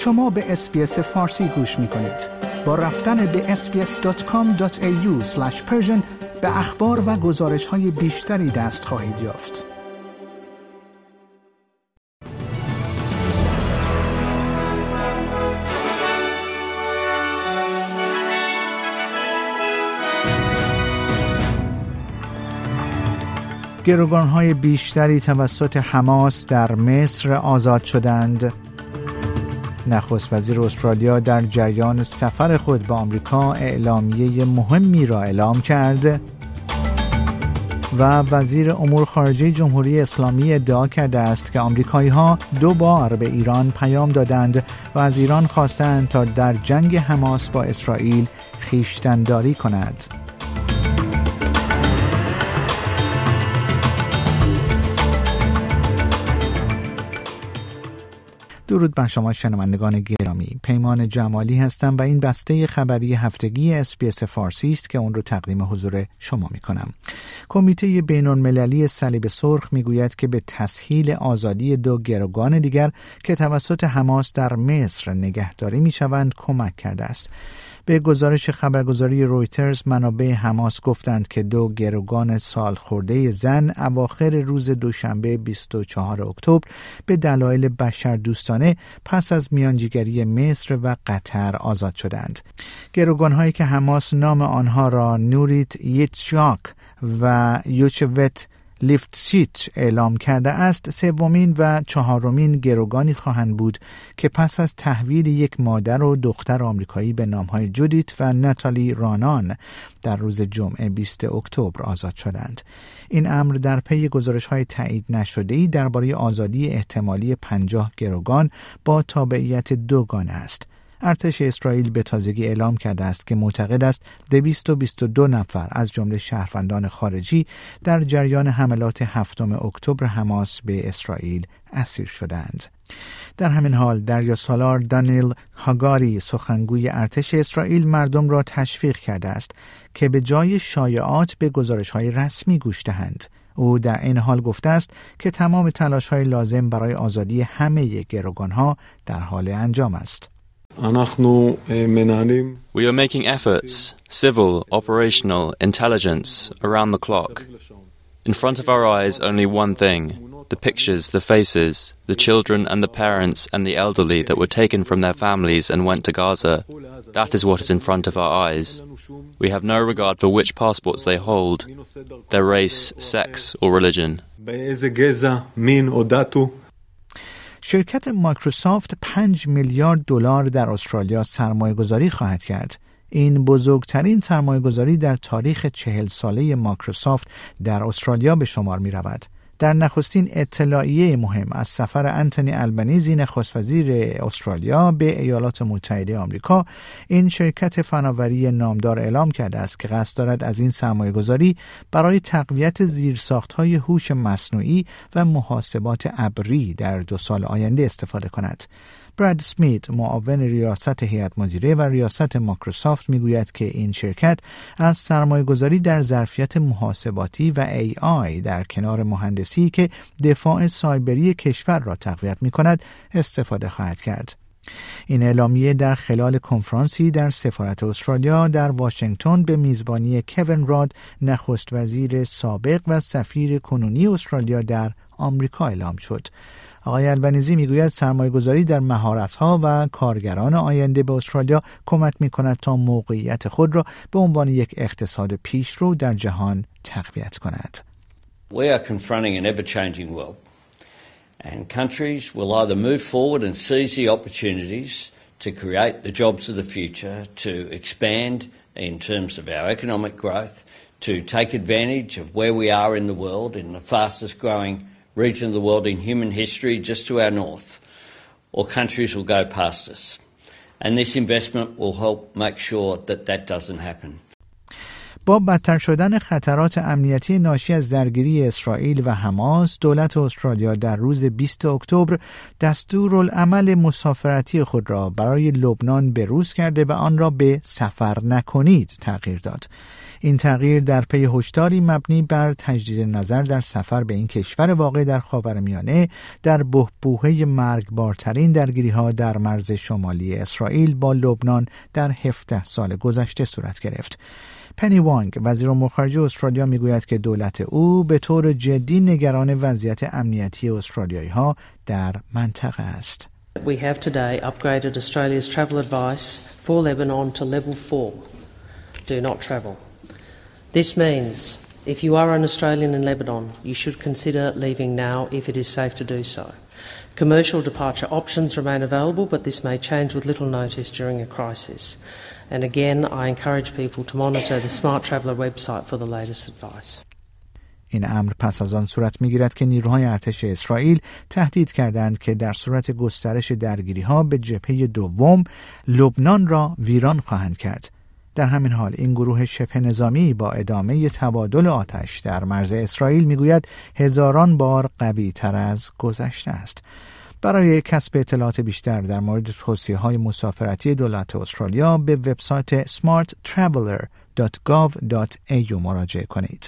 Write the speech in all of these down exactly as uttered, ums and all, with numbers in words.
شما به اس‌بی‌اس فارسی گوش می‌کنید. با رفتن به اس بی اس دات کام دات ای یو اسلش پرشن به اخبار و گزارش‌های بیشتری دست خواهید یافت. گروگان‌های بیشتری توسط حماس در مصر آزاد شدند. نخست وزیر استرالیا در جریان سفر خود به آمریکا اعلامیه مهمی را اعلام کرد و وزیر امور خارجه جمهوری اسلامی ادعا کرده است که آمریکایی‌ها دو بار به ایران پیام دادند و از ایران خواستند تا در جنگ حماس با اسرائیل خویشتن‌داری کند. درود بر شما شنوندگان گرامی. پیمان جمالی هستم و این بسته خبری هفتگی اس‌بی‌اس فارسی است که اون رو تقدیم حضور شما می کنم. کمیته بین‌المللی صلیب سرخ می گوید که به تسهیل آزادی دو گروگان دیگر که توسط حماس در مصر نگهداری می شوند کمک کرده است. به گزارش خبرگزاری رویترز منابع حماس گفتند که دو گروگان سالخورده زن اواخر روز دوشنبه بیست و چهارم اکتبر به دلایل بشردوستانه پس از میانجیگری مصر و قطر آزاد شدند. گروگان‌هایی که حماس نام آنها را نوریت یتشاک و یوچوت لیفتسیچ اعلام کرده است، سومین و چهارمین گروگانی خواهند بود که پس از تحویل یک مادر و دختر آمریکایی به نامهای جودیت و ناتالی رانان در روز جمعه بیست اکتبر آزاد شدند. این امر در پی گزارش‌های تایید نشده‌ای درباره آزادی احتمالی پنجاه گروگان با تابعیت دوگانه است. ارتش اسرائیل به تازگی اعلام کرده است که معتقد است دویست و بیست و دو نفر از جمله شهروندان خارجی در جریان حملات هفتم اکتبر حماس به اسرائیل اسیر شدند. در همین حال دریاسالار دانیل هاگاری سخنگوی ارتش اسرائیل مردم را تشویق کرده است که به جای شایعات به گزارش‌های رسمی گوش دهند. او در این حال گفته است که تمام تلاش‌های لازم برای آزادی همه گروگان‌ها در حال انجام است. We are making efforts, civil, operational, intelligence, around the clock. In front of our eyes, only one thing, the pictures, the faces, the children and the parents and the elderly that were taken from their families and went to Gaza. That is what is in front of our eyes. We have no regard for which passports they hold, their race, sex or religion. شرکت مایکروسافت پنج میلیارد دلار در استرالیا سرمایه گذاری خواهد کرد. این بزرگترین سرمایه گذاری در تاریخ چهل ساله مایکروسافت در استرالیا به شمار می رود. در نخستین اطلاعیه مهم از سفر انتونی البنیزی نخست وزیر استرالیا به ایالات متحده آمریکا، این شرکت فناوری نامدار اعلام کرده است که قصد دارد از این سرمایه‌گذاری برای تقویت زیرساخت‌های هوش مصنوعی و محاسبات ابری در دو سال آینده استفاده کند. براد اسمیت، معاون ریاست هیئت مدیره و ریاست مایکروسافت، میگوید که این شرکت از سرمایه‌گذاری در ظرفیت محاسباتی و ای آی در کنار مهندسی که دفاع سایبری کشور را تقویت می‌کند استفاده خواهد کرد. این اعلامیه در خلال کنفرانسی در سفارت استرالیا در واشنگتن به میزبانی کوین راد، نخست وزیر سابق و سفیر کنونی استرالیا در آمریکا اعلام شد. آقای البنیزی میگوید سرمایه‌گذاری در مهارت‌ها و کارگران آینده به استرالیا کمک می‌کند تا موقعیت خود را به عنوان یک اقتصاد پیشرو در جهان تقویت کند. We are confronting an ever-changing world, and countries will either move forward and seize the opportunities to create the jobs of the future, to expand in terms of our economic growth, to take advantage of where we are in the world, in the fastest growing region of the world in human history, just to our north, or countries will go past us. And this investment will help make sure that that doesn't happen. با بدتر شدن خطرات امنیتی ناشی از درگیری اسرائیل و حماس، دولت استرالیا در روز بیست اکتبر دستورالعمل مسافرتی خود را برای لبنان بروز کرده و آن را به سفر نکنید تغییر داد. این تغییر در پی هشداری مبنی بر تجدید نظر در سفر به این کشور واقع در خاورمیانه در بحبوحه مرگبارترین درگیری‌ها در مرز شمالی اسرائیل با لبنان در هفده سال گذشته صورت گرفت. پنی وانگ، وزیر امور خارجه استرالیا، میگوید که دولت او به طور جدی نگران وضعیت امنیتی استرالیایی‌ها در منطقه است. We have today upgraded Australia's travel advice for Lebanon to level four. Do not travel. This means if you are an Australian in Lebanon, you should consider leaving now if it is safe to do so. Commercial departure options remain available, but this may change with little notice during a crisis. And again, I encourage people to monitor the Smart Traveller website for the latest advice. این امر پس از آن صورت می‌گیرد که نیروهای ارتش اسرائیل تهدید کردند که در صورت گسترش درگیری‌ها به جبهه دوم لبنان را ویران خواهند کرد. در همین حال این گروه شبه نظامی با ادامه تبادل آتش در مرز اسرائیل میگوید هزاران بار قوی‌تر از گذشته است. برای کسب اطلاعات بیشتر در مورد توصیه‌های مسافرتی دولت استرالیا به وبسایت smart traveller dot gov dot a u مراجعه کنید.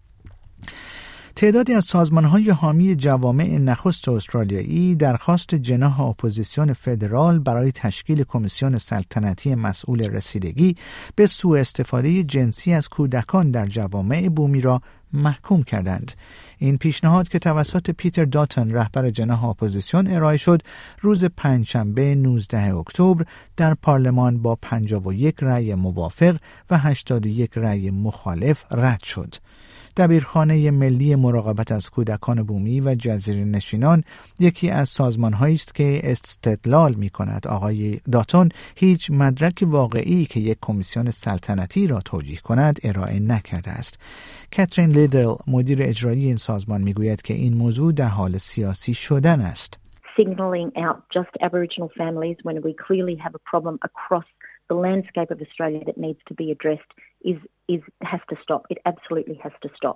تعدادی از سازمان‌های حامی جوامع نخست استرالیایی درخواست جناح اپوزیسیون فدرال برای تشکیل کمیسیون سلطنتی مسئول رسیدگی به سوء استفاده جنسی از کودکان در جوامع بومی را محکوم کردند. این پیشنهاد که توسط پیتر داتن رهبر جناح اپوزیسیون ارائه شد، روز پنجشنبه نوزدهم اکتبر در پارلمان با پنجاه و یک رأی موافق و هشتاد و یک رأی مخالف رد شد. دبیرخانه ملی مراقبت از کودکان بومی و جزیره نشینان یکی از سازمان‌هایی است که استدلال می‌کند آقای داتون هیچ مدرک واقعی که یک کمیسیون سلطنتی را توجیه کند ارائه نکرده است. کاترین لیدل، مدیر اجرایی این سازمان، می‌گوید که این موضوع در حال سیاسی شدن است. Signaling out just Aboriginal families when we clearly have a problem across the landscape of Australia that needs to be addressed is is has to stop. It absolutely has to stop.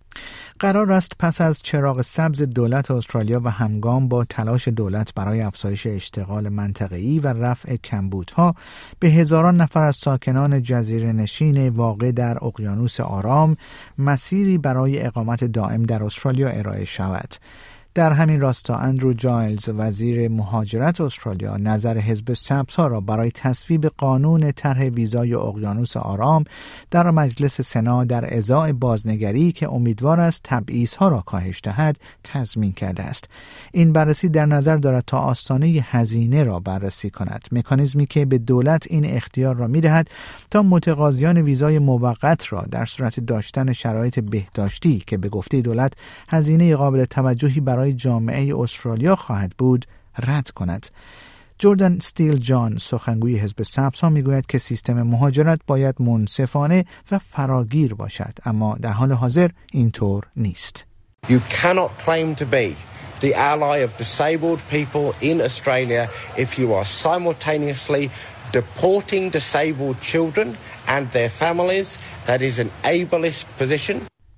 قرار است پس از چراغ سبز دولت استرالیا و همگام با تلاش دولت برای افزایش اشتغال منطقه‌ای و رفع کمبودها به هزاران نفر از ساکنان جزیره نشین واقع در اقیانوس آرام مسیری برای اقامت دائم در استرالیا ارائه شود. در همین راستا اندرو جایلز، وزیر مهاجرت استرالیا، نظر حزب سبزها را برای تصویب قانون طرح ویزای اقیانوس آرام در مجلس سنا در ازای بازنگری که امیدوار است تبعیض‌ها را کاهش دهد تضمین کرده است. این بررسی در نظر دارد تا آستانه هزینه را بررسی کند، مکانیزمی که به دولت این اختیار را می‌دهد تا متقاضیان ویزای موقت را در صورت داشتن شرایط بهداشتی که به گفته دولت هزینه قابل توجهی برای جامعه استرالیا خواهد بود رد کند. جردن استیل جان، سخنگوی حزب سبزها، میگوید که سیستم مهاجرت باید منصفانه و فراگیر باشد، اما در حال حاضر اینطور نیست. You cannot claim to be the ally of disabled people in Australia if you are simultaneously deporting disabled children and their families. That is an ableist position.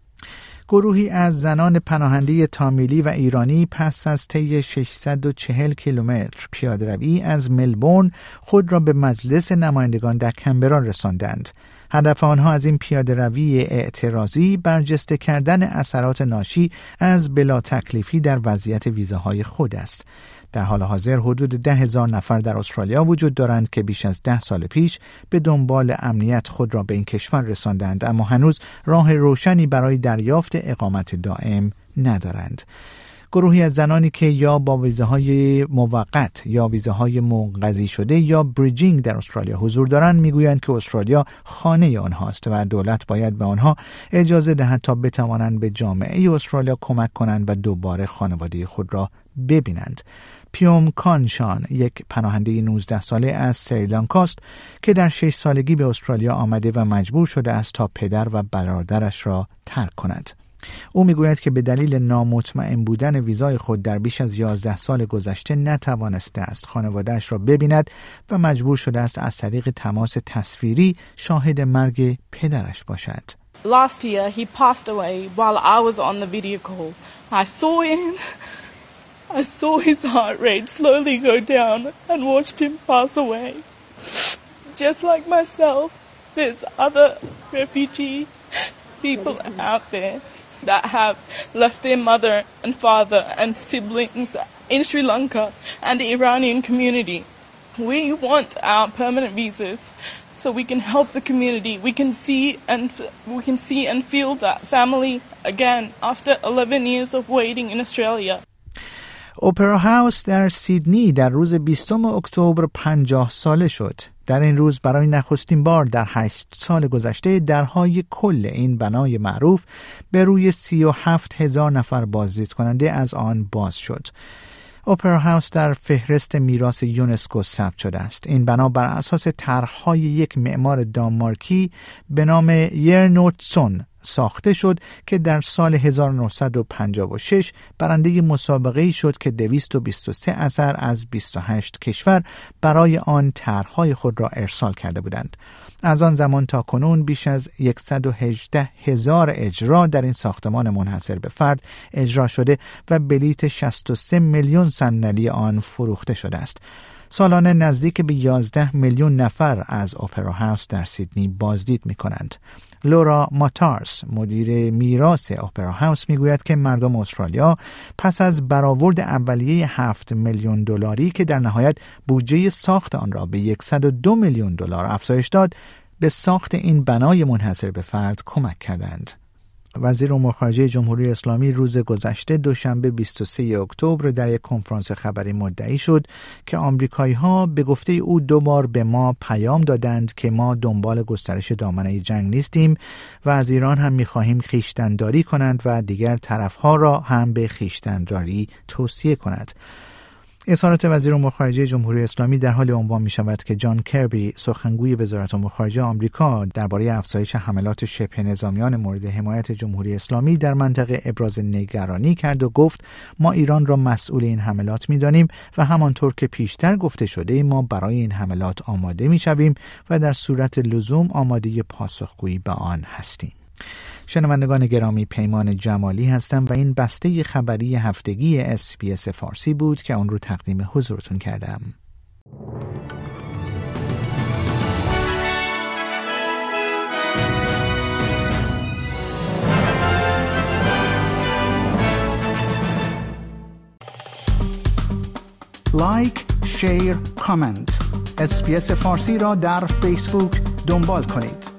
گروهی از زنان پناهنده تامیلی و ایرانی پس از طی ششصد و چهل کیلومتر پیاده‌روی از ملبورن خود را به مجلس نمایندگان در کمبرا رساندند. هدف آنها از این پیاده‌روی اعتراضی برجسته کردن اثرات ناشی از بلا تکلیفی در وضعیت ویزاهای خود است. در حال حاضر حدود ده هزار نفر در استرالیا وجود دارند که بیش از ده سال پیش به دنبال امنیت خود را به این کشور رساندند، اما هنوز راه روشنی برای دریافت اقامت دائم ندارند. گروهی از زنانی که یا با ویزاهای موقت یا ویزاهای منقضی شده یا بریجینگ در استرالیا حضور دارند میگویند که استرالیا خانه آنهاست و دولت باید به آنها اجازه دهد تا بتوانند به جامعه استرالیا کمک کنند و دوباره خانواده خود را ببینند. پیوم کانشان، یک پناهنده نوزده ساله از سریلانکاست که در شش سالگی به استرالیا آمده و مجبور شده است تا پدر و برادرش را ترک کند. او میگوید که به دلیل نامطمئن بودن ویزای خود در بیش از یازده سال گذشته نتوانسته است خانواده‌اش را ببیند و مجبور شده است از طریق تماس تصویری شاهد مرگ پدرش باشد. Last year he passed away while I was on the video call. I saw him. I saw his heart rate slowly go down and watched him pass away. Just like myself, There's other refugee people out there that have left their mother and father and siblings in Sri Lanka and the Iranian community. We want our permanent visas so we can help the community. We can see and we can see and feel that family again after eleven years of waiting in Australia. اپرا هاوس در سیدنی در روز بیستم اکتبر پنجاه ساله شد. در این روز برای نخستین بار در هشت سال گذشته درهای کل این بنای معروف به روی سی و هفت هزار نفر بازدید کننده از آن باز شد. اپرا هاوس در فهرست میراث یونسکو ثبت شده است. این بنا بر اساس طرح‌های یک معمار دانمارکی به نام یرنوتسون ساخته شد که در سال هزار و نهصد و پنجاه و شش برنده مسابقه‌ای شد که دویست و بیست و سه اثر از بیست و هشت کشور برای آن طرح‌های خود را ارسال کرده بودند. از آن زمان تا کنون بیش از صد و هجده هزار اجرا در این ساختمان منحصر به فرد اجرا شده و بلیت شصت و سه میلیون صندلی آن فروخته شده است. سالانه نزدیک به یازده میلیون نفر از اپرا هاوس در سیدنی بازدید می کنند. لورا ماتارس مدیر میراث اپرا هاوس میگوید که مردم استرالیا پس از برآورد اولیه هفت میلیون دلاری که در نهایت بودجه ساخت آن را به صد و دو میلیون دلار افزایش داد، به ساخت این بنای منحصر به فرد کمک کردند. وزیر امور خارجه جمهوری اسلامی روز گذشته دوشنبه بیست و سوم اکتبر در یک کنفرانس خبری مدعی شد که آمریکایی‌ها به گفته او دو بار به ما پیام دادند که ما دنبال گسترش دامنه جنگ نیستیم و از ایران هم می‌خواهیم خویشتن‌داری کنند و دیگر طرف‌ها را هم به خویشتن‌داری توصیه کند. اظهارات وزیر امور خارجه جمهوری اسلامی در حال عنوان می شود که جان کربی سخنگوی وزارت امور خارجه آمریکا درباره افزایش حملات شبه نظامیان مورد حمایت جمهوری اسلامی در منطقه ابراز نگرانی کرد و گفت ما ایران را مسئول این حملات می دانیم و همانطور که پیشتر گفته شده ما برای این حملات آماده می شویم و در صورت لزوم آماده پاسخگویی به آن هستیم. شنوندگان گرامی، پیمان جمالی هستم و این بسته خبری هفتگی اس بی اس فارسی بود که آن رو تقدیم حضورتون کردم. لایک، شیر، کامنت. اس بی اس فارسی را در فیسبوک دنبال کنید.